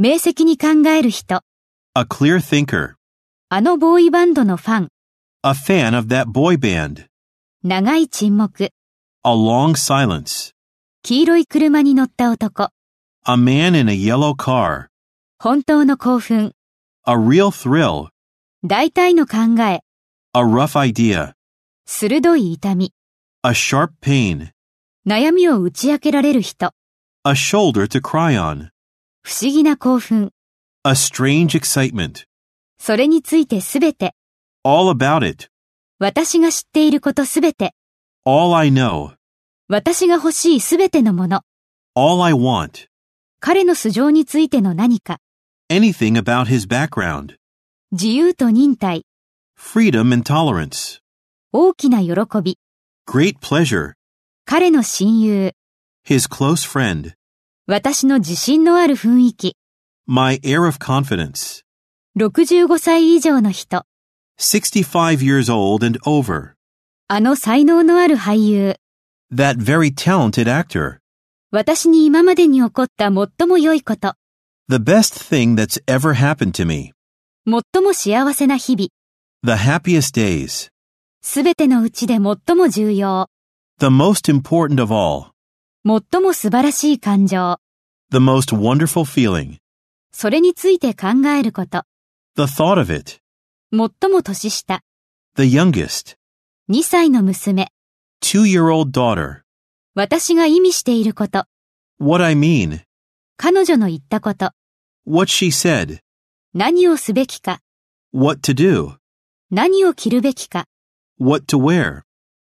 明晰に考える人。 A clear thinker. あのボーイバンドのファン。 A fan of that boy band. 長い沈黙。 A long silence. 黄色い車に乗った男。 A man in a yellow car. 本当の興奮。 A real thrill. 大体の考え。 A rough idea. 鋭い痛み。 A sharp pain. 悩みを打ち明けられる人。 A shoulder to cry on. 不思議な興奮。 A strange excitement. それについてすべて。 All about it. 私が知っていることすべて。 All I know. 私が欲しいすべてのもの。 All I want. 彼の素性についての何か。 Anything about his background. 自由と忍耐。 Freedom and tolerance. 大きな喜び。 Great pleasure. 彼の親友。 His close friend. 私の自信のある雰囲気。 My air of confidence. 65歳以上の人。 65 years old and over. あの才能のある俳優。 That very talented actor. 私に今までに起こった最も良いこと。 The best thing that's ever happened to me. 最も幸せな日々。 The happiest days. すべてのうちで最も重要。 The most important of all. 最も素晴らしい感情。 The most wonderful feeling. それについて考えること。 The thought of it. 最も年下。 The youngest. 2歳の娘。 2-year-old daughter. 私が意味していること。 What I mean. 彼女の言ったこと。 What she said. 何をすべきか。 What to do. 何を着るべきか。 What to wear.